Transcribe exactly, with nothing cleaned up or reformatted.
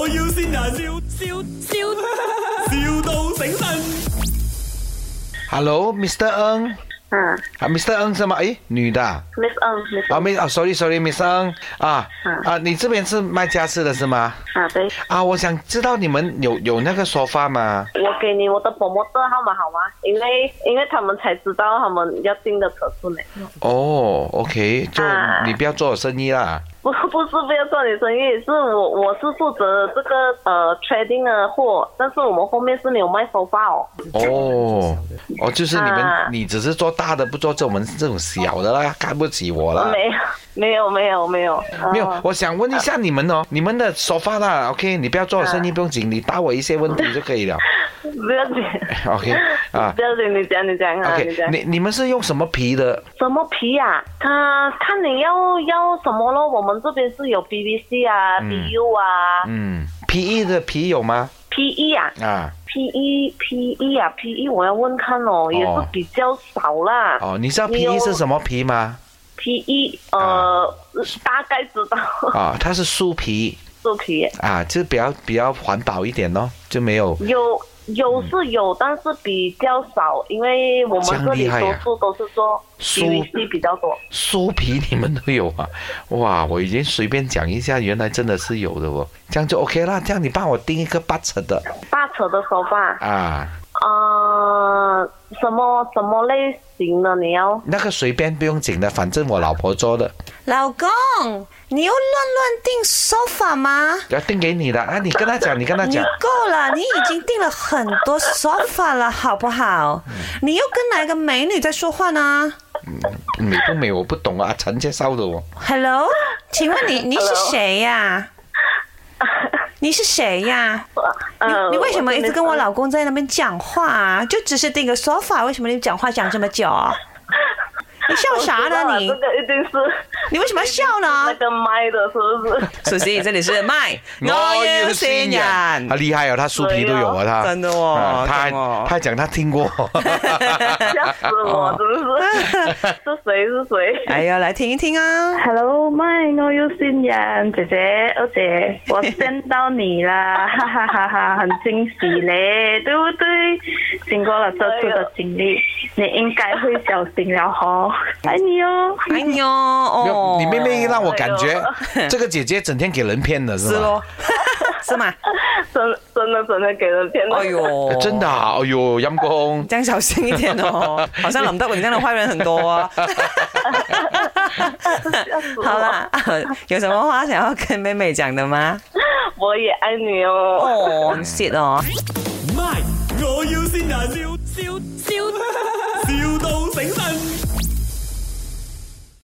要先人，笑笑笑，,笑到醒神。 Hello，Mister Ng。 嗯啊，Mister Ng 是吗？诶，女的啊。 ，Miss Ng，Miss 啊，没啊，sorry sorry，Miss Ng 啊啊，你这边是卖家私的是吗？ 啊，对， 啊，我想知道你们有有那个沙发吗？ 我给你我的 promoter 号码好吗？因为因为他们才知道他们要订的尺寸呢。 哦，OK，就啊你不要做我生意啦。 不不是不要做你生意，是我我是负责这个呃 trading 的货，但是我们后面是没有卖收发哦。 哦哦，就是你们、 啊你只是做大的，不做这我们这种小的啦，看不起我啦。 没有没有没有没有没有， 呃我想问一下你们哦，你们的沙发啦 ，OK， 你不要做我生意，不用紧，你答我一些问题就可以了。 不要紧 OK 啊不要紧，你讲你讲啊你 ，OK， 讲。 你你们是用什么皮的？ 什么皮啊？他看你要要什么咯？我们这边是有 P V C 啊、 嗯 B U 啊、 嗯，P E 的皮有吗？ P E 啊。 啊， P E P E 啊 P E 我要问看哦，也是比较少啦。 哦，你知道 P 你 E 有是什么皮吗？ P E 呃、大概知道。 啊，它是树皮树皮啊，就比较比较环保一点咯，就没有。 有有是有，但是比较少，因为我这们这里样厉害啊多数都是做树 P V C 比较多。 树皮你们都有啊？哇，我已经随便讲一下，原来真的是有的哦。这样就 OK 啦，这样你帮我订一个八尺的大扯的手法， 啊， 呃，什么什么类型的你要？ 那个随便不用紧的，反正我老婆做的， 老公，你又乱乱订 sofa 吗？ 要订给你的啊，你跟他讲，你跟他你讲。 够了，你已经订了很多 sofa 了，好不好？你又跟哪个美女在说话呢美不美我不懂啊，陈介绍的哦。 ？Hello，请问你你是谁呀？你是谁呀？你呃你为什么一直跟我老公在那边讲话啊？就只是订个 sofa，为什么你讲话讲这么久？你笑啥呢你这？个一定是你为什么要笑那呢？ 个麦的，是不是？ 苏西，这里是麦，我要新人他。厉害哦，他树皮都有啊，他真的哦啊他还真的哦他还讲他听过。 吓死我，真的是。是谁是谁？ 哎呀，来听一听啊！ Hello，麦，我有新人，姐姐，二姐，我见到你啦，哈哈哈哈，很惊喜嘞，对不对？经过了这次的经历，你应该会小心了吼，爱你哦。 哎呦， 没有哦， 你妹妹让我感觉这个姐姐整天给人骗的是吗？ 是咯，是吗？ 真真的真的给人骗了。 哎呦， 真的啊，哎呦，阴公。 这样小心一点哦，好像林德荣这样的坏人很多啊。好啦，有什么话想要跟妹妹讲的吗？ 我也爱你哦。 哦，很 shit 哦。 My，我要先人，笑笑笑，